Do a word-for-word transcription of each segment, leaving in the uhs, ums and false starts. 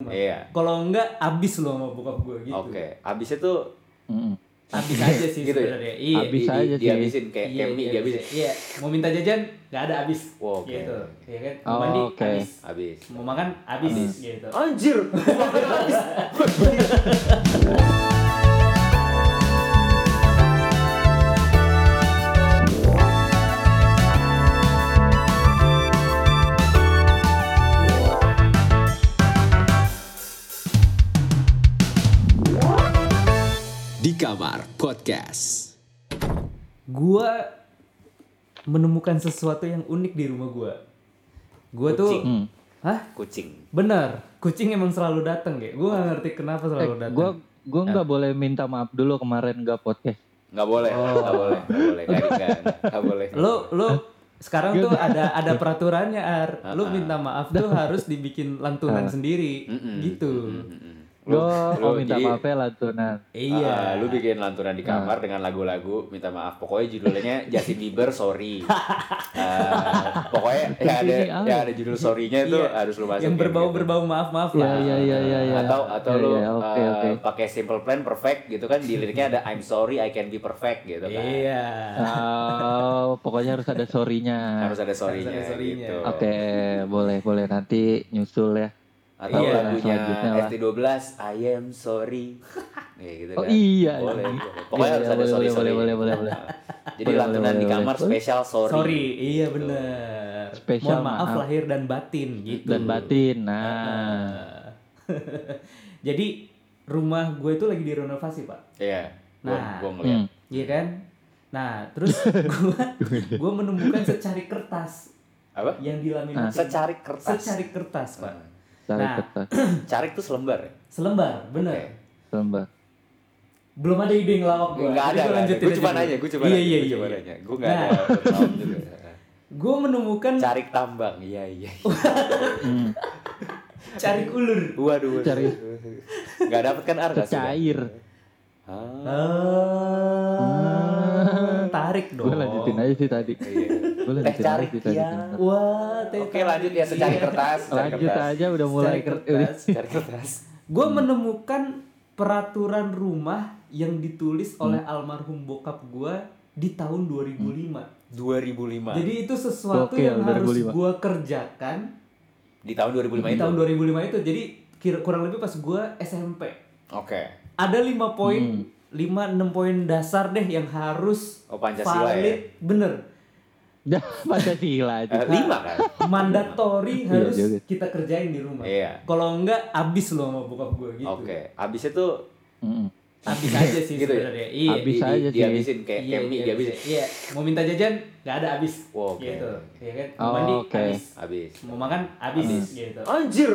rumah. Iya. Kalau enggak abis lo sama bokap gue gitu. Oke, okay. Abisnya tuh Mm-mm. Abis aja sih gitu sebenarnya. ya? Iya. Abis Di- aja di- sih. Dihabisin kayak Iya, kayak mie iya, dihabisin. Iya, mau minta jajan nggak ada abis. Wow, oke. Gitu. Iya kan? Oh, Mau mandi oke. abis. Abis. Mau makan abis, Abis. gitu. Anjir. Di Kamar Podcast. Gua menemukan sesuatu yang unik di rumah gua. Gua tuh, Kucing. Hmm. hah? Kucing. Bener, kucing emang selalu datang ya. Gua nggak ngerti kenapa Eh, selalu datang. gue gue nggak boleh minta maaf dulu kemarin nggak podcast. Nggak boleh, Oh. nggak boleh, nggak boleh, nggak nggak nggak boleh. Lo lo sekarang tuh ada ada peraturannya Ar. Lo minta maaf tuh harus dibikin lantunan sendiri, Mm-mm. gitu. Mm-mm. Gue Lu- oh minta jadi- maaf ya lantunan. Iya. Ah, lu bikin lantunan di kamar dengan lagu-lagu minta maaf. Pokoknya judulnya Justin Bieber Sorry. Ah, pokoknya ya ada Ini apa? ya ada judul sorry-nya itu Iya. harus lu masukin. Yang berbau gitu. berbau maaf maaf Iya lah. iya iya iya. Ya. Atau atau Ya, lu ya, oke eh, oke. pakai Simple Plan Perfect gitu kan, di liriknya ada I'm sorry I can be perfect gitu kan. Iya. Oh, pokoknya harus ada sorry-nya. Harus ada sorry-nya, Harus ada sorry-nya. gitu. Oke, boleh boleh nanti nyusul ya. Atau Iya. lagunya Selanjutnya lah. F T twelve I am sorry. Ya gitu Oh kan. iya. Boleh. iya. gitu. Pokoknya Iya, harus iya, ada boleh, sorry boleh, sorry. boleh, boleh, boleh. Jadi Boleh, lantunan boleh, di boleh, kamar boleh. spesial sorry. Sorry, iya bener. Spesial Mohon maaf, maaf. lahir dan batin gitu. Dan batin. Nah. Nah. Jadi rumah gue itu lagi direnovasi Pak. Iya. Gua Nah. gua ngeliat. Hmm. Iya kan? Nah terus gue gue menemukan secari kertas Apa? yang dilaminating. Secari kertas. Secari kertas Pak. Cari Nah. kertas. Carik tuh selembar ya? Selembar, bener. Oke. Lembah. Belum ada ide ngelawak gue. Enggak ada. Gue cuma nanya, gue cuma iya, nanya, iya, gue iya, cuma iya. nanya. Gue enggak Nah. ada pengetahuan juga. Gue menemukan Carik tambang. Iya, iya. Hmm. cari ulur. Waduh. waduh. Cari. Enggak dapat kan Ar? Secair. Ah. Ah, tarik dong. Gue lanjutin aja sih tadi. Iya. Gue Teh lanjutin aja carik sih tadi. ya. Wah, teh Oke, tarik. lanjut ya secari Iya. kertas. Secari Lanjut kertas. aja udah mulai Secari ker- kertas. Secari kertas. Gue menemukan peraturan rumah yang ditulis oleh almarhum bokap gue di tahun dua ribu lima. dua ribu lima. Jadi itu sesuatu Gokil, yang harus dua ribu lima. gue kerjakan Di tahun dua ribu lima di itu. tahun dua ribu lima itu. Jadi kira kurang lebih pas gue S M P. Oke. Ada lima poin, lima enam poin dasar deh yang harus Oh, Pancasila valid, ya? bener. Dah Pancasila aja. Eh, lima kan? Mandatori Iya harus juga. kita kerjain di rumah. Iya. Kalau enggak abis lo sama bokap gue gitu. Oke. Abisnya tuh Mm-mm. Abis aja sih Gitu ya? sebenarnya. Iya. Abis di- aja di- sih. dihabisin kayak Iya, kayak mie iya, dihabisin. iya. Mau minta jajan nggak ada abis. Wow, oke. Gitu. Iya kan? Mau Oh, mandi oke. abis. Habis. Mau makan abis, gitu. Anjir.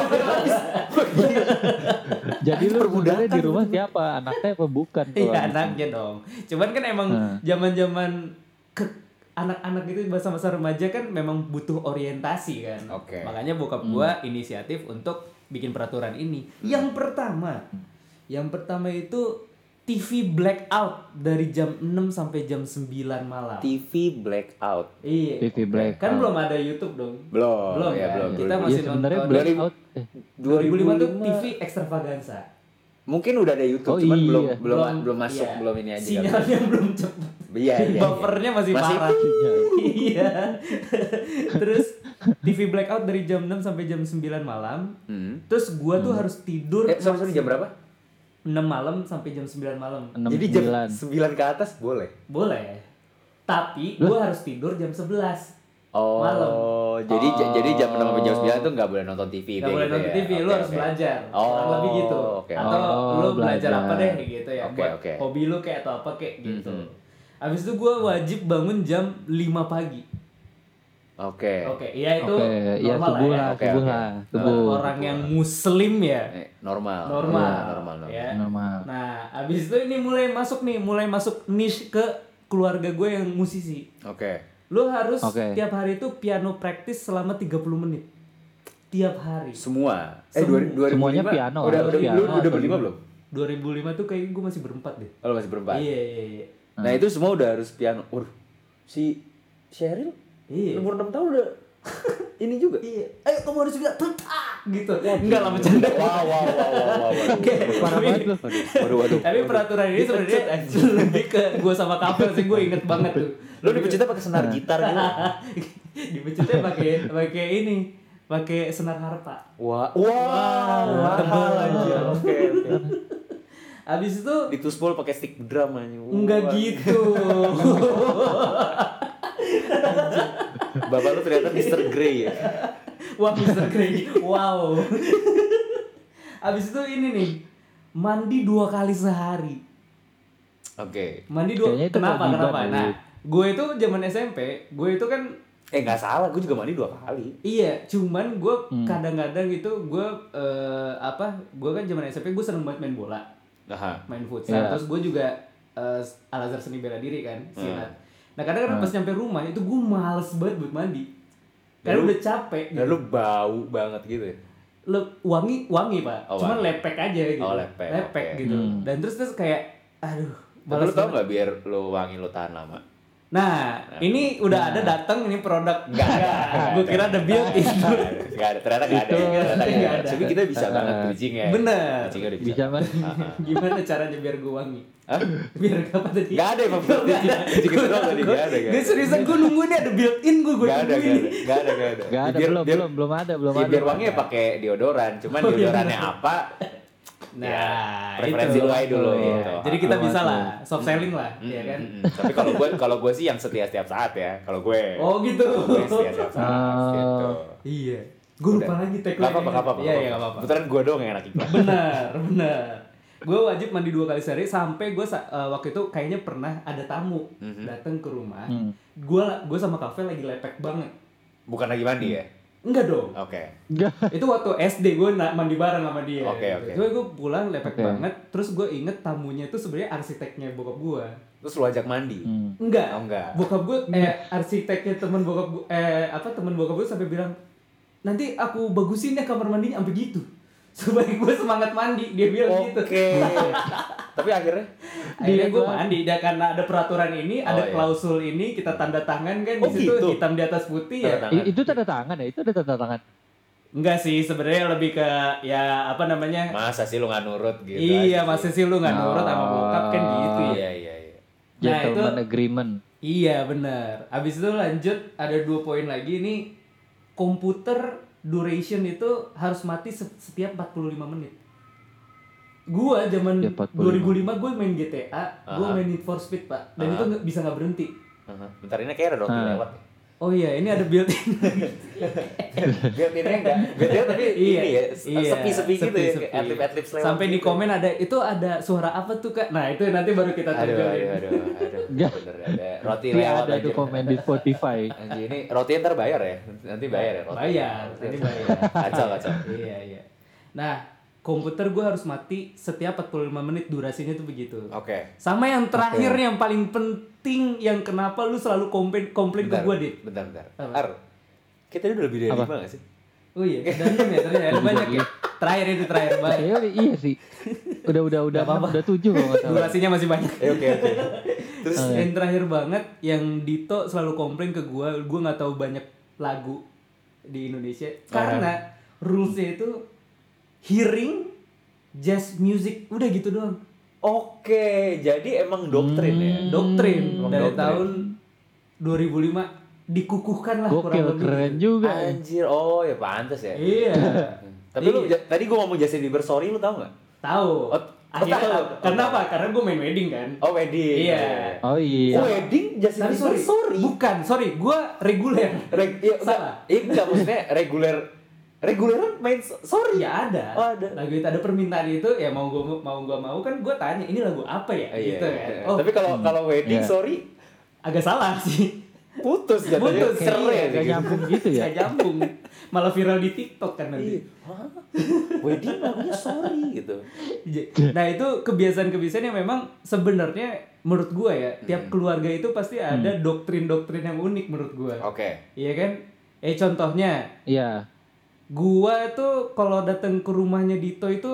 Jadi lu sebenarnya di rumah siapa? Anaknya apa bukan? kalau Iya gitu? anaknya dong. Cuman kan emang Hmm. zaman-zaman ke anak-anak itu masa-masa remaja kan memang butuh orientasi kan. Oke. Makanya bokap gua inisiatif untuk bikin peraturan ini. Yang pertama, yang pertama itu T V blackout dari jam enam sampai jam sembilan malam. T V blackout. Iya. T V black. Kan belum ada YouTube dong. Belum. Belum ya, kan? belum. Kita belum. masih Iya sebenarnya nonton. blackout. Eh, dua ribu lima tuh T V extravaganza. Mungkin udah ada YouTube, Oh, cuman iya. belum belum Belum- belum masuk, iya. belum ini aja. kali. Sinyalnya belum cepet. Iya, iya. Buffernya masih, Masih- parah. Iya. Terus T V blackout dari jam enam sampai jam sembilan malam. Hmm. Terus gua tuh harus tidur Eh, sorry, sorry, jam berapa? enam malam sampai jam sembilan malam. enam Jadi jam sembilan. sembilan ke atas boleh. Boleh. Tapi gua harus tidur jam sebelas. Oh, Malam. jadi Oh. jadi jam enam sampai jam sembilan tuh nggak boleh nonton T V. Gak boleh gitu nonton ya? T V, lu Oke, harus oke. belajar. Oh, Kurang lebih gitu. oke. Atau Oh, lu belajar belajar. apa deh gitu ya. Oke, buat oke. hobi lu kayak atau apa kayak gitu. Mhm. Habis itu gua wajib bangun jam lima pagi. Oke. Oke, iya itu Oke, ya normal subuh lah lah, ya. Oke, subuh oke. lah, Kalau subuh. orang yang muslim ya. Eh, normal. Normal. Iya, normal, normal. Ya. Normal. Nah, abis itu ini mulai masuk nih, mulai masuk niche ke keluarga gue yang musisi. Oke. Lu harus Oke. tiap hari itu piano practice selama tiga puluh menit. Tiap hari. Semua. Eh, Semua. dua, dua ribu Semuanya lima, piano, Udah, harus udah, piano lu udah atau berlima gimana? belum? dua ribu lima tuh kayak gue masih berempat deh. Oh, lu masih berempat. Iya, iya, iya. Nah, itu semua udah harus piano. Waduh. Si Sheryl Iya. umur enam tahun udah Ini juga. Iya. Ayo kamu harus juga tetak gitu. Enggak lah bercanda. Wow, wow, wow, wow, wow. Parah banget lu. Waduh, waduh. Tapi peraturan ini sebenarnya lebih ke gue sama Kapel sih, gue inget banget tuh. Lu dipecutnya pakai senar gitar gitu. Dipecutnya pakai pakai ini, pakai senar harpa. Wah, wow, mahal aja. Oke, oke. Abis itu Dituspol pakai stick drum aja. enggak gitu. Bapak lu ternyata mister Grey ya. Wah, mister Grey. Wow. Abis itu ini nih, mandi dua kali sehari. Oke. Mandi dua. Kayaknya itu Kenapa? kewajiban Kenapa? dulu. Nah, gue itu zaman S M P, gue itu kan Eh nggak salah, gue juga mandi dua kali. iya, cuman gue Hmm. kadang-kadang itu gue eh, apa? Gue kan zaman S M P gue seneng banget main bola, Nah, main futsal. Iya. Terus gue juga eh, Al-Azhar Seni Bela Diri kan, silat. Nah kadang-kadang Hmm. pas nyampe rumah itu gue males banget buat mandi, karena Lu- udah capek. dan lu bau banget gitu ya. Lo wangi wangi pak, Oh, cuman wangi. lepek aja gitu, Oh, lepek, oke. gitu. Hmm. Dan terus terus kayak, aduh, Tapi lu males tau banget. nggak biar lu wangi lu tahan lama? Nah, ini udah ada datang ini produk. Nggak ada. Gue kira ada built-in. Nggak ada, ternyata nggak ada. Itu- Ternyata nggak nggak ada. ada. Tapi kita bisa banget bridging ya. Bener. Bridgingnya udah bisa. Bisa mas. Ah, ah. Gimana caranya biar gue wangi? Hah? Biar apa tadi? Nggak ada emang bridging bridging itu doang tadi nggak ada. Gue seriusan gue nunggu ini ada built-in gue gue Nggak ada, tungguin. nggak ada, nggak ada, nggak ada. Gak ada, Biar- belum, biar- belum, belum ada, belum Ya, ada. biar wangi ya pakai deodoran, cuman Oh, iya. deodorannya apa? Nah, Ya, preferensi itu. lu aja dulu. Iya. gitu. Jadi kita Belum bisa ada. lah, soft selling lah, Mm, ya kan? mm, mm. Tapi kalau gue kalau gue sih yang setia setiap saat ya. Kalau gue. Oh gitu. Gue setia setiap saat Oh. gitu. Iya. Gue lupa Udah. lagi Gak tagline. apa-apa, gak apa-apa. Iya, iya, gak apa-apa. Kebetulan gue doang yang enak iklan. Benar, benar. Gue wajib mandi dua kali sehari sampai gue uh, waktu itu kayaknya pernah ada tamu Mhm. datang ke rumah. Hmm. Gue gue sama Kafe lagi lepek banget. Bukan lagi mandi ya? Enggak dong. Oke. Enggak. Itu waktu S D gue na- mandi bareng sama dia. Oke, gitu. oke. Cuma gue pulang lepek Oke. banget. Terus gue inget tamunya itu sebenarnya arsiteknya bokap gue. Terus lu ajak mandi? Hmm. Enggak. Oh, enggak. Bokap gue eh arsiteknya teman bokap gue eh apa teman bokap gue sampai bilang nanti aku bagusin ya kamar mandinya sampai gitu. Supaya gue semangat mandi, dia bilang gitu. Oke. Tapi akhirnya Akhirnya gue Dia- mandi, dan karena ada peraturan ini, Oh, ada iya. klausul ini, kita tanda tangan kan Oh, di situ gitu? hitam di atas putih ya. Tanda tangan. I- itu tanda tangan ya? Itu ada tanda tangan. Enggak sih, sebenarnya lebih ke ya apa namanya? masa sih lu nggak nurut gitu? iya, aja masih sih? sih lu nggak nurut sama Oh. bokap kan gitu ya. Iya, iya, iya. Nah, Gentleman itu- agreement. Iya benar. Abis itu lanjut ada dua poin lagi nih, komputer duration itu harus mati se- setiap empat puluh lima menit. Gua zaman Ya, empat dua puluh lima. ribu lima gue main G T A, gue Aha. main Need for Speed pak, dan Aha. itu nggak bisa nggak berhenti. Aha. Bentar ini kayak ada roti Ah. lewat. Oh iya, ini ada built-in. Biar ini enggak, biar tapi Iya, ini ya, iya, sepi-sepi gitu ya, sepi-sepi. kayak atlet-atlet lewat. Sampai di gitu. komen ada itu ada suara apa tuh kak? Nah itu nanti baru kita Aduh, tunjukin. aduh, aduh, aduh. Enggak. Bener ada roti Iya lewat ada aja. tuh komen di Spotify. Anjir ini roti ntar bayar ya? Nanti bayar ya roti. Bayar, nanti bayar. Kacau, kacau. Iya iya. Nah komputer gue harus mati setiap empat puluh lima menit, durasinya tuh begitu. Oke. Sama yang terakhir yang paling penting, yang kenapa lu selalu komplain komplain ke Bentar, gue dit. bentar, bentar. Apa? Ar, kita ini udah lebih dari Apa? lima gak sih? Oh iya, dalam ya ternyata ada banyak ya. Terakhir itu terakhir banyak. Kayaknya udah- iya sih. Udah udah udah Gak apa-apa. udah tujuh kalau nggak salah. Durasinya masih banyak. Eh, oke, oke. Terus Oh, Yang terakhir banget yang Dito selalu komplain ke gue, gue nggak tahu banyak lagu di Indonesia karena rulesnya itu hearing jazz music, udah gitu doang. oke, jadi emang doktrin ya. Hmm. Doktrin Emang dari doktrin. tahun dua ribu lima dikukuhkan lah kurang Gokil, lebih. keren juga. ya. Anjir, oh ya pantas ya. Iya. Tapi lu Iya. ja- tadi gua ngomong Justin Bieber sorry lu tau gak? Tahu. Oh, Akhirnya tahu. kenapa? Karena gue main wedding kan. Oh wedding. Iya. Oh iya. Oh, wedding Justin Tapi Bieber sorry, sorry. bukan, sorry, gue reguler. Reg- iya, enggak. Salah. Iya enggak maksudnya reguler. Reguleran main so- sorry. Ya ada. Oh, ada. Lagu itu ada permintaan itu, ya mau gue mau gua mau kan gue tanya ini lagu apa ya, Oh, iya, gitu iya. kan. Oh, Tapi kalau kalau wedding Iya. sorry agak salah sih. putus jatuhnya. Putus, Cerai iya, aja Gak gitu. nyambung gitu ya. Gak nyambung. Malah viral di TikTok kan Iya. nanti. Hah? Wedding lagunya sorry gitu. Nah itu kebiasaan-kebiasaan yang memang sebenarnya menurut gue ya, tiap keluarga itu pasti ada doktrin-doktrin yang unik menurut gue. Oke. Iya kan? Eh contohnya, Iya. gua tuh kalau datang ke rumahnya Dito itu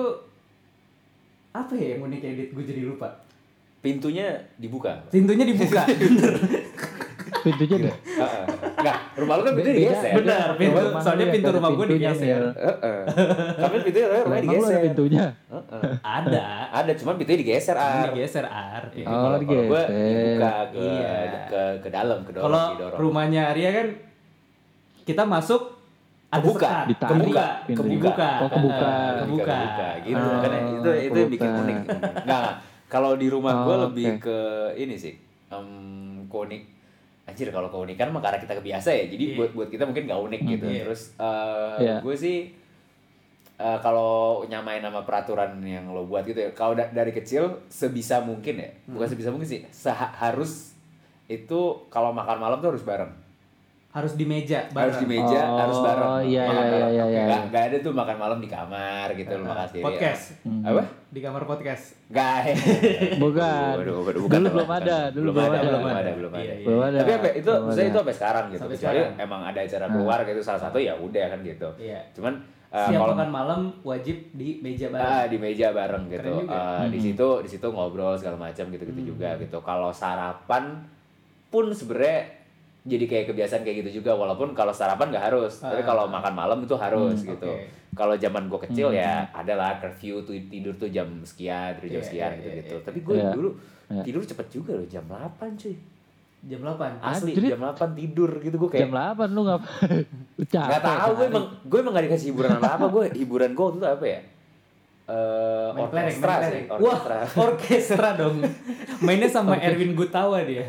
apa ya yang unik ya Dit? Gue jadi lupa. Pintunya dibuka. Pintunya dibuka. Bener. Pintunya deh. Heeh. Enggak, rumah lu kan pintu digeser. Benar, pintu. Rumah Soalnya lu pintu yang rumah ada gue pintunya, digeser. Mil. Heeh. Tapi pintunya rumahnya Emang lu ada digeser. pintunya? Heeh. Ada. Ada, cuman pintunya digeser, Ini Ar. digeser ar. Ini Oh, kalau- kalau gua digeser. dibuka ke, Iya. ke ke dalam, ke dorong, Kalau didorong. rumahnya Arya kan kita masuk ada Kebuka. sekat. Ditarik kebuka, pintunya. kebuka, Oh, kebuka. Eh, kebuka, kebuka. gitu. Oh, Makanya itu itu yang bikin kebuka. unik. Enggak, kalau di rumah gue Oh, lebih oke. ke ini sih. Um, keunik. Anjir, kalau keunikan mah karena kita kebiasa ya. Jadi Iya. buat buat kita mungkin nggak unik gitu. Iya. Terus uh, Iya. gue sih uh, kalau nyamain sama peraturan yang lo buat gitu ya. Kalau da- dari kecil sebisa mungkin ya. Bukan Hmm. sebisa mungkin sih. Seha- harus itu kalau makan malam tuh harus bareng. Harus di meja bareng. Harus di meja, Oh, harus bareng. iya, Makan iya, bareng. iya, iya, Nggak- iya. nggak ada tuh makan malam di kamar gitu lo makan sendiri. Podcast. Hmm. Apa? Di kamar podcast. Nggak. Bukan. Waduh, waduh, Dulu bukan, belum bukan. ada, dulu belum belum ada, ada. belum ada, belum Iya, ada. iya. Belum ada. Tapi apa itu Belum saya ada. itu sampai sekarang gitu. Sampai Kecuali sekarang. emang ada acara keluar gitu salah satu ya udah kan gitu. Iya. Cuman uh, Siap kalau makan malam wajib di meja bareng. ah, di meja bareng gitu. Keren juga. Uh, di Hmm. situ di situ ngobrol segala macam gitu-gitu Hmm. juga gitu. Kalau sarapan pun sebenarnya jadi kayak kebiasaan kayak gitu juga walaupun kalau sarapan nggak harus tapi Ah. kalau makan malam itu harus Hmm, gitu. oke. Kalau zaman gue kecil Hmm. ya adalah curfew tuh tidur tuh jam sekian tidur jam Iya, sekian iya, gitu gitu. iya, Tapi gue iya. dulu Iya. tidur cepet juga loh jam delapan cuy. Jam delapan. Asli Anjrit. jam delapan tidur gitu gue kayak Jam delapan lu ngapain? Lu capek. nggak tahu gue sehari. emang gue emang gak dikasih hiburan apa apa gue hiburan gue waktu itu apa ya Eh Main kelereng, orkestra main sih kelereng. Wah, orkestra. orkestra dong. Mainnya sama Erwin Gutawa dia.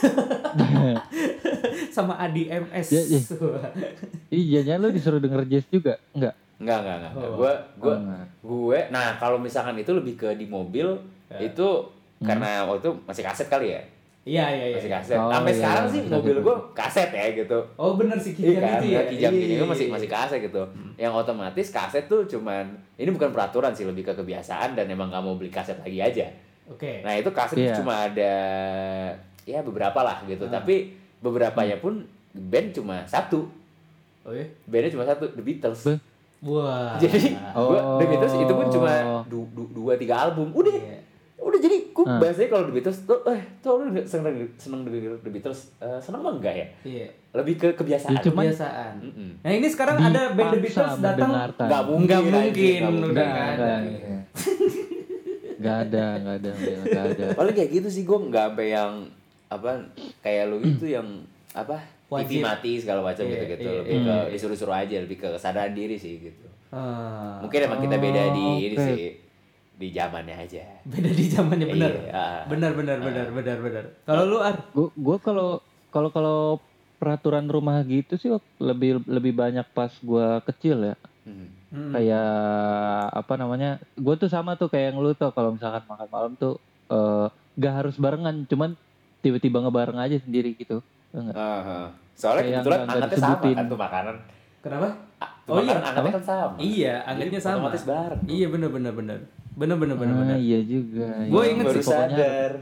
Sama Adi M S. Ya, ya. Iya, jangan lu disuruh denger jazz juga? Enggak. Enggak, enggak, enggak. Oh. Gue gue Oh, enggak. gue nah kalau misalkan itu lebih ke di mobil Ya. itu karena waktu itu masih kaset kali ya. Iya, iya, iya. Masih kaset. Oh, Sampai iya, sekarang iya, sih kaset mobil itu. gue kaset ya gitu. Oh, bener sih Iya kijang kan, itu ya. kijang Iya, gini iya, kan masih iya. masih kaset gitu. Yang otomatis kaset tuh cuman ini bukan peraturan sih lebih ke kebiasaan dan emang nggak mau beli kaset lagi aja. Oke. Nah itu kaset Iya. cuma ada ya beberapa lah gitu. Ah. Tapi beberapanya pun band cuma satu. Oh ya. Bandnya cuma satu, The Beatles. Be- Wah. Jadi Oh. gua The Beatles itu pun cuma du, du- dua tiga album. Udah. Iya. Udah jadi gue Ah. bahasanya kalau The Beatles tuh eh tuh lu seneng seneng The The Beatles eh, seneng mah enggak ya? Iya. Lebih ke kebiasaan. Ya, cuman- Kebiasaan. Mm-mm. Nah, ini sekarang ada band The Dipaksa Beatles datang. mendengarkan. Nggak mungkin. Nggak mungkin, anjing, nggak udah mungkin. nggak ada. Gak ada, gak ada, gak ada. Paling kayak gitu sih gue nggak sampai yang apa kayak lu itu yang apa T V Wajib. mati segala macam Iya, gitu gitu iya, lebih ke iya. disuruh-suruh aja lebih ke kesadaran diri sih gitu. Ah, Mungkin emang kita beda di Oh, ini oke. sih di zamannya aja. beda di zamannya benar. Iya. Benar benar benar benar benar. Kalau lu Ar, Gue gue kalau kalau kalau peraturan rumah gitu sih lebih lebih banyak pas gue kecil ya. Hmm. Hmm. Kayak apa namanya? Gue tuh sama tuh kayak yang lu tuh kalau misalkan makan malam tuh eh, gak harus barengan, cuman tiba-tiba ngebareng aja sendiri gitu. Enggak. Aha. Soalnya Kayak kebetulan nggak- nggak angetnya sama disebutin. kan tuh makanan. Kenapa? Ah, Oh tuh iya, makanan angetnya apa? kan sama. Iya, angetnya Jadi sama. Otomatis bareng. dong. Iya benar benar benar. Benar benar benar Ah, benar. iya juga. Gua Iya, inget Baru sih, pokoknya- sadar.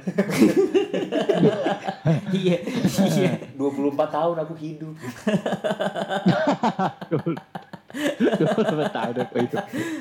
Iya. Iya. dua puluh empat tahun aku hidup. Gue tahu deh apa itu.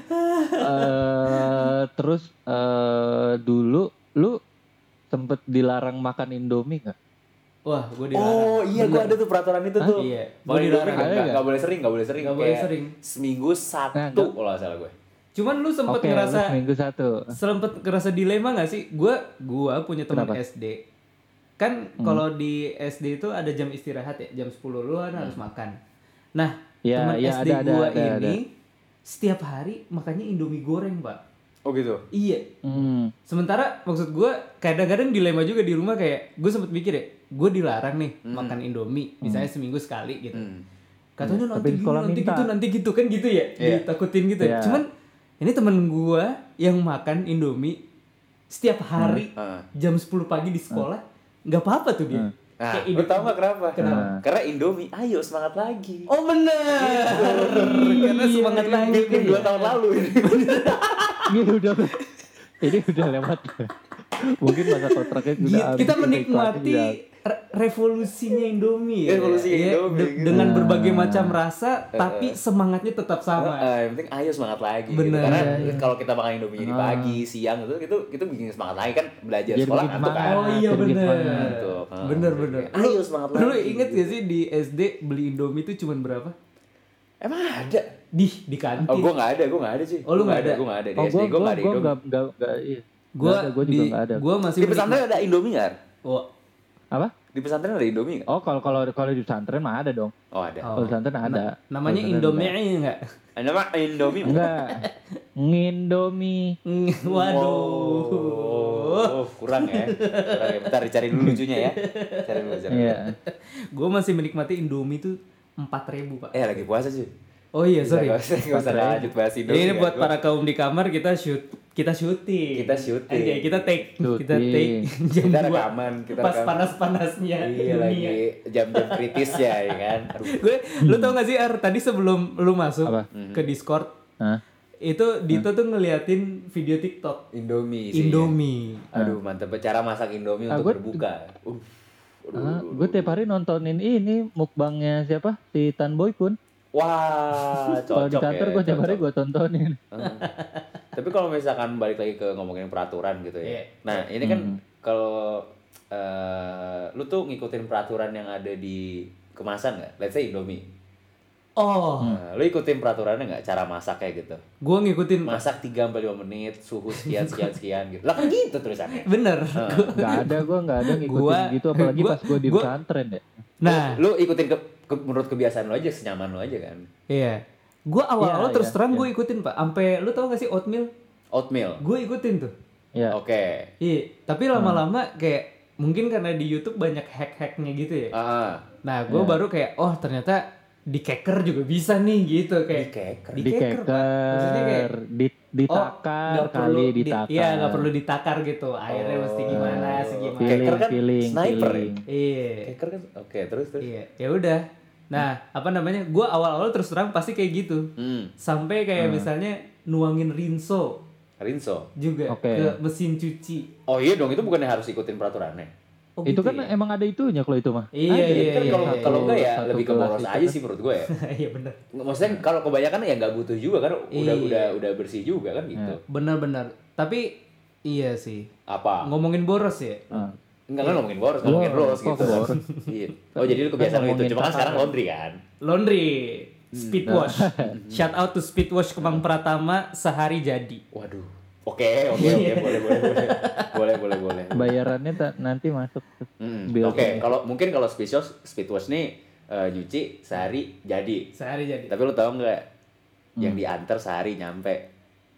Eh, terus eh, dulu lu sempet dilarang makan Indomie nggak? Wah, gue dilarang. Oh iya, Bener. gua ada tuh peraturan itu tuh. Iya. Mau Gua di dilarang. nggak Ada nggak nggak? nggak boleh sering, nggak boleh sering. Nggak boleh Kayak sering. Seminggu Nah, satu nggak- kalau nggak salah gue. Cuman lu sempet Oke, ngerasa lu seminggu satu. sempet ngerasa dilema gak sih? Gua gua punya teman Kenapa? S D. Kan kalau di S D itu ada jam istirahat ya, jam sepuluh lu kan harus makan. Nah, Ya, teman ya, S D ada, ada, gua ada, ini ada. setiap hari makannya Indomie goreng, Pak. Oh gitu. Iya. Hmm. Sementara maksud gua kadang-kadang dilema juga di rumah kayak gue sempet mikir ya, gue dilarang nih makan Indomie, misalnya seminggu sekali gitu. Hmm. Katanya Hmm. nanti Tapi di gini, sekolah nanti minta. gitu, nanti gitu kan gitu ya, Iya. ditakutin gitu. Iya. Cuman ini temen gua yang makan Indomie setiap hari Ah. jam sepuluh pagi di sekolah, nggak apa-apa tuh dia. Hmm. Nah, Kayak lu ide- tau gak kenapa? Kenapa? Nah. Karena Indomie, ayo semangat lagi. Oh bener, karena semangat lagi. Mungkin dua tahun lalu ini. Ini udah ini udah lewat. Mungkin masa kontraknya udah Gitu, habis, kita iklannya menikmati udah- re- revolusinya Indomie ya. Revolusinya Ya, Indomie, de- gitu. dengan berbagai macam rasa tapi semangatnya tetap sama. Uh, yang penting ayo semangat lagi gitu. Bener. Karena Iya, iya. kalau kita makan Indomie di pagi, siang itu itu itu bikin semangat lagi kan belajar Jadi sekolah bikin ngantuk kan. semangat. Oh iya Sedikit bener. banget. Ngantuk. Uh, Bener bener. Ayo semangat lagi. Lu inget gak sih di S D beli Indomie itu cuman berapa? Emang ada? Di di kantin. Oh, gua nggak ada, gua nggak ada sih. Oh, lu Gua nggak ada? Gua nggak ada di Oh, S D, gue gua gue nggak ada gue Indomie. nggak nggak nggak iya. Gua gue juga di- nggak ada. Gua masih Di pesantren ada Indomie nggak? Oh, Apa? Di pesantren ada Indomie nggak? Oh kalau kalau kalau di pesantren mah ada dong. Oh ada. Oh. Kalau di pesantren ada. na- namanya Kalau di Indomie pesantren enggak? Ada mah Indomie. enggak. Ngindomie. Waduh. Oh, kurang ya. Kurang ya. Bentar dicari dulu lucunya ya. Cari dulu, cari dulu. Iya. Gue masih menikmati Indomie tuh empat ribu pak. Eh lagi puasa sih. Oh iya sorry. Gak usah, gak usah lanjut bahas Indomie. Ini kan. buat Gua- para kaum di kamar kita shoot kita syuting. Kita syuting. Anjay, kita take kita Syuting. take jam Kita dua. rekaman, kita pas rekaman. panas-panasnya Iya lagi jam-jam kritis ya, ya kan. Aduh. Gue lu tau gak sih Ar tadi sebelum lu masuk Apa? ke Discord Hah? itu Dito tuh ngeliatin video TikTok Indomie sih. Indomie. Aduh, mantep cara masak Indomie Ah, untuk gua- berbuka. Uh. Aduh, Ah, aduh, gue aduh. tiap hari nontonin ini mukbangnya siapa? Si Tanboy pun. Wah, cocok Kalau di kantor ya, gue tiap hari cocok. gue tontonin. Heeh. Tapi kalau misalkan balik lagi ke ngomongin peraturan gitu ya. Iya. Nah, ini kan kalau eh, lu tuh ngikutin peraturan yang ada di kemasan nggak? Let's say Indomie. Oh, Nah, lu ikutin peraturannya nggak? Cara masak kayak gitu. gue ngikutin Masak tiga sampai lima menit, suhu sekian sekian sekian gitu. Lah kan gitu tulisannya. bener. Gak ada gue gak ada ngikutin Gua- gitu apalagi gua- pas gue di gua- pesantren ya. Nah, Lu ikutin ke, ke- menurut kebiasaan lu aja, senyaman lu aja kan. iya. Gue awal-awal Iya, terus iya, terang iya. gue ikutin pak. Sampai lu tau gak sih oatmeal? Oatmeal. Gue ikutin tuh. Ya. Oke. Iya. Tapi lama-lama kayak mungkin karena di YouTube banyak hack-hacknya gitu ya. Ah, ah. Nah, gue baru kayak oh ternyata di keker juga bisa nih gitu kayak. Di keker. Di Di keker, Pak. Maksudnya kayak keker, di, ditakar nggak perlu kali di- ditakar. Iya nggak perlu ditakar gitu. Airnya Oh. mesti gimana, segimana. Feeling, Keker kan feeling, sniper ya? feeling. Iya. Keker kan. Oke, terus terus. Iya. Ya udah. Nah, apa namanya? Gue awal-awal terus terang pasti kayak gitu. Hmm. Sampai kayak misalnya nuangin rinso Rinso. juga Oke. ke mesin cuci. Oh iya dong, itu bukannya harus ikutin peraturannya. Oh, Itu gitu kan ya? emang ada itunya kalau itu mah. Iya, Ada. iya, kan iya, kalau iya, kalau iya. enggak ya Satu lebih ke kelas boros itu aja kan. sih menurut gue ya. Iya bener. Maksudnya kalau kebanyakan ya nggak butuh juga kan udah Iya. udah udah bersih juga kan gitu. Bener-bener. Tapi iya sih. Apa? Ngomongin boros ya. Ah. Enggak kan ngomongin boros, ngomongin Boros, bros kok gitu. boros? Iya. Oh jadi lu kebiasaan lu itu, ngomongin cuma kan sekarang takaran. laundry kan. Laundry, speed wash. Shout out to speed wash Kemang Pratama sehari jadi. Waduh. Oke, oke, oke, boleh, boleh, boleh, boleh, boleh, boleh. Bayarannya ta- nanti masuk. Mm, Bill. Oke, kalau mungkin kalau speed wash, speed wash nih eh, nyuci sehari jadi. Sehari jadi. Tapi lu tahu nggak yang diantar sehari nyampe?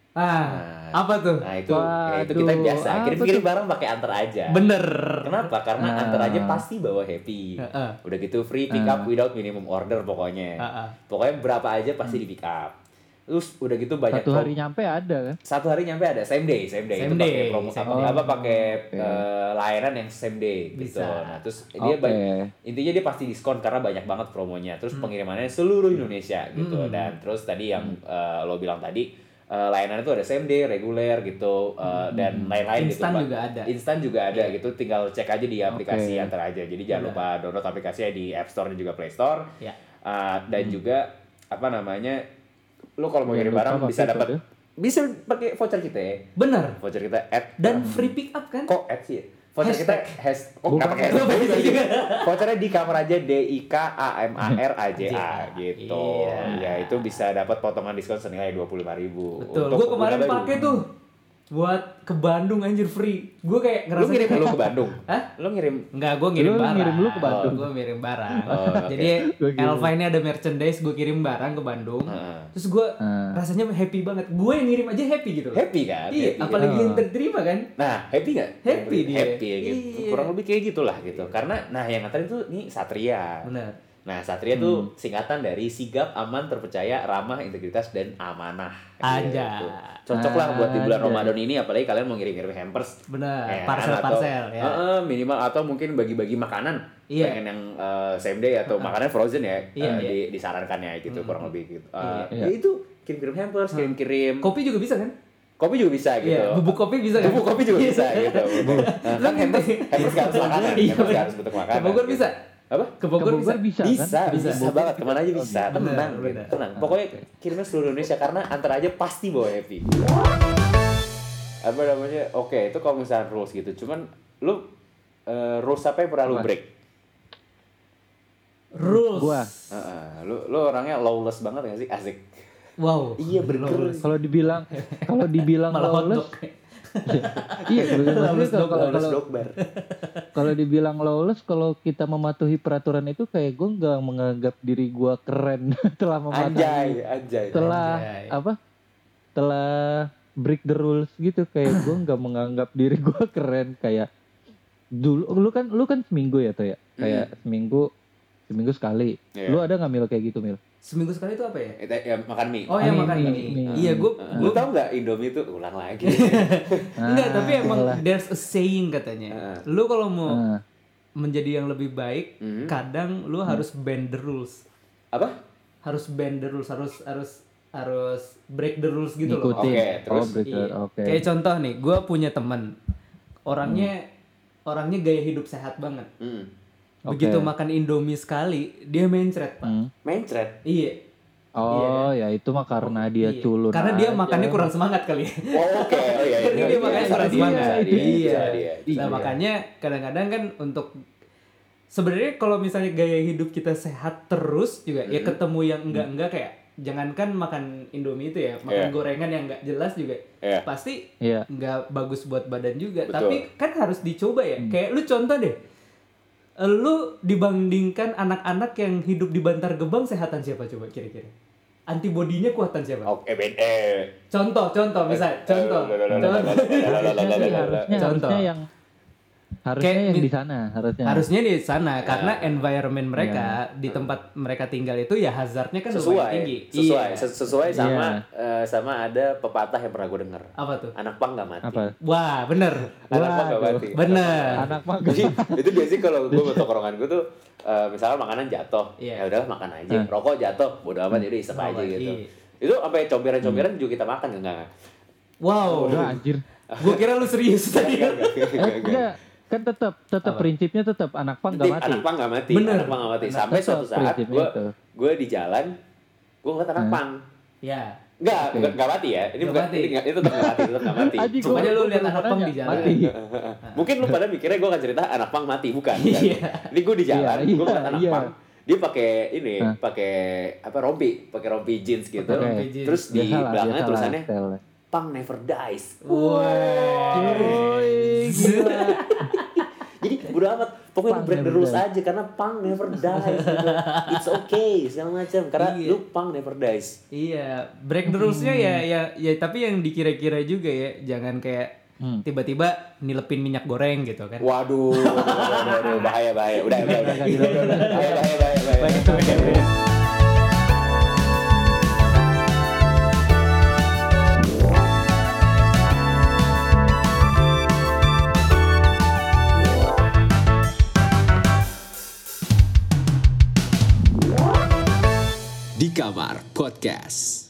Ah, apa tuh? Nah itu, ya itu kita Waduh, biasa apa kirim-kirim barang pakai antar aja. Bener. Kenapa? Karena Ah. antar aja pasti bawa happy. Heeh. Udah gitu free pick up without minimum order pokoknya. Heeh. Pokoknya berapa aja pasti di pick up. Terus udah gitu banyak Satu pro- hari nyampe ada kan? satu hari nyampe ada same day, same day Same itu pakai day, promo same apa, day. apa pakai Oke. eh, layanan yang same day gitu. Bisa. Nah, terus dia Oke. ba- intinya dia pasti diskon karena banyak banget promonya. Terus pengirimannya seluruh Indonesia gitu. Hmm. Dan terus tadi yang eh, lo bilang tadi eh, layanan itu ada same day, reguler gitu eh, dan lain-lain gitu. Instan Pak. juga ada. Instan juga ada gitu. Tinggal cek aja di aplikasi Oke. antar aja. Jadi jangan Benar. lupa download aplikasinya di App Store dan juga Play Store. Ya. Eh, dan juga apa namanya? Lu kalau mau Jangan ngirim lupa barang pakai bisa dapat kode. bisa pakai voucher kita ya. Bener. Voucher kita at Dan free pick up kan? kok at sih ya? Voucher kita has oh Bukan. nggak pakai hashtag. Vouchernya di kamar aja D I K A M A R A J A gitu. Iya. Ya itu bisa dapat potongan diskon senilai dua puluh lima ribu. Betul. Gue kemarin pakai tuh buat ke Bandung anjir free. Gue kayak Lu ngerasa ngirim lu ke Bandung? Hah? Lu ngirim Enggak, gue ngirim Lu barang. ngirim lu ke Bandung? Gue ngirim barang. Oh, oke. Jadi Gua kirim. Elva ini ada merchandise, gue kirim barang ke Bandung. Heeh. Terus gue Ah. rasanya happy banget. Gue yang ngirim aja happy gitu loh. happy kan? Iya, Happy, apalagi kan? yang terterima kan. Nah, happy nggak? Happy dia. Happy ya gitu. Iya. Kurang lebih kayak gitulah gitu. Karena nah yang nganterin tuh nih Satria. Benar. Nah, Satria tuh singkatan dari sigap, aman, terpercaya, ramah, integritas, dan amanah. Anjay. Gitu. Cocok lah buat di bulan Anjay. Ramadan ini, apalagi kalian mau ngirim-ngirim hampers. Benar. ya kan? Parcel-parcel Atau- ya. Heeh, minimal atau mungkin bagi-bagi makanan. Iya. Pengen yang eh, same day atau makanan frozen ya, Iya, eh, iya. di- disarankan ya gitu, kurang lebih gitu. Eh, Iya. Ya itu kirim-kirim hampers, kirim-kirim. Kopi juga bisa kan? kopi juga bisa gitu. Iya, bubuk kopi bisa kan? Bubuk kopi juga bisa gitu. Nah, kan hampers, hampers gak harus makanan, Iya, hampers gak harus bentuk makanan. Ke Bogor gitu. bisa? Apa? Ke Bogor bisa? bisa, Bisa, kan? bisa, bisa banget. Kemana aja bisa. Benar, Tenang, gitu. benar. tenang. Pokoknya kirimnya seluruh Indonesia karena antar aja pasti bawa happy. Apa namanya? Oke, itu kalau misalnya rules gitu. Cuman lu uh, rules apa yang pernah lu Apa? break? Rules. Gua. Uh, lu lu orangnya lawless banget gak sih? Asik. Wow. Iya, bener. Kalau dibilang kalau dibilang Malah lawless, hotdog. iya sebenarnya Lawless kalau dog, kalau Lawless kalau dog bar. kalau dibilang lawless, kalau kita mematuhi peraturan itu kayak gue nggak menganggap diri gue keren telah mematuhi Anjay, anjay. telah Anjay. apa telah break the rules gitu, kayak gue nggak menganggap diri gue keren kayak dulu. Lu kan lu kan seminggu ya tuh ya, kayak seminggu seminggu sekali. Iya. Lu ada nggak Mil kayak gitu Mil? Seminggu sekali itu apa ya? Itu ya makan mie. Oh ya Mie, makan mie, mie. mie. Iya, gue Uh, lu tau nggak Indomie itu ulang lagi. enggak, tapi emang iyalah. there's a saying katanya. Ah. Lu kalau mau Ah. menjadi yang lebih baik, Mhm. kadang lu harus bend the rules. Apa? Harus bend the rules, harus harus harus break the rules gitu loh. Ngikutin. Oke, terus? Oh, break the- Iya. oke. Kayak contoh nih, gue punya teman orangnya Hmm. orangnya gaya hidup sehat banget. Hmm. Oke. Begitu makan Indomie sekali, dia mencret pak. Hmm. Mencret. Iya. Oh ya itu mah karena dia Iya. culun. Karena dia aja. makannya kurang semangat kali. ya. Oh, oke. Oh iya. Karena iya, dia iya, makannya iya, kurang iya, semangat. iya, Iya. iya, iya, iya. Nah makanya kadang-kadang kan untuk sebenarnya kalau misalnya gaya hidup kita sehat terus juga ya ketemu yang enggak-enggak kayak jangankan makan Indomie itu ya, makan Iya. gorengan yang enggak jelas juga Iya. pasti Iya. nggak bagus buat badan juga. Betul. Tapi kan harus dicoba ya. Kayak lu contoh deh. Lu dibandingkan anak-anak yang hidup di Bantar Gebang, sehatan siapa coba kira-kira? Antibodinya kuatan siapa? Oke, ben eh. Contoh, contoh misal, contoh. contoh. Harusnya sih, harusnya Contoh. harusnya yang harusnya Kayak yang mi- di sana harusnya. Harusnya di sana Ya. karena environment mereka di tempat mereka tinggal itu ya hazardnya kan lumayan Sesuai. tinggi. Sesuai. Iya. Ses- Sesuai sama Iya. eh, sama ada pepatah yang pernah gue denger. Apa tuh? Anak pang gak mati. Apa? Wah, bener. Anak pang gak Waduh. mati. Bener. Anak mah Jadi itu biasanya kalau gue ke tongkrongan gue tuh eh, misalnya makanan jatuh, Iya. ya udahlah makan aja. Hmm. Rokok jatuh, bodo amat jadi isep aja Iya. gitu. Itu sampai comberan-comberan juga kita makan enggak? Wow. udah anjir. Gua kira lu serius tadi. Enggak, enggak, enggak, Eh, enggak. enggak, kan tetap tetap Apa? prinsipnya tetap anak pang Nanti nggak mati. anak pang nggak mati, Bener. anak pang nggak mati. Sampai Tetap suatu saat prinsipnya gue itu. gue di jalan, gue ngeliat anak Hmm. pang. Ya. Enggak, Oke. bukan nggak mati ya. Ini Nggak bukan, mati. ini nggak, itu tetap nggak mati, tetap nggak mati. Anjing, Cuma gua- aja lu gua lihat baru anak pang nanya, di jalan. Mati. Mungkin lu pada mikirnya gue akan cerita anak pang mati, bukan? bukan. Iya. Ini gue di jalan, Iya, gue ngeliat iya, anak iya. pang. Dia pakai ini, Hah? pakai apa rompi, pakai rompi jeans gitu. Oke. Rompi jeans. Terus di Biasalah, belakangnya biasalah, tulisannya style. "Pang never dies." Yoi, gila. Jadi bodo amat, pokoknya lu Pang break the never rules dies. aja karena pang never dies gitu. It's okay segala macam karena Iya. lu pang never dies. Iya, break the rules-nya ya ya ya tapi yang dikira-kira juga ya, jangan kayak Hmm. tiba-tiba nilepin minyak goreng gitu kan. Waduh, waduh, waduh, waduh, bahaya bahaya. Udah udah udah. Gila, gila, gila. Bahaya bahaya bahaya. bahaya. Baik, itu beda, beda. Di Kamar Podcast.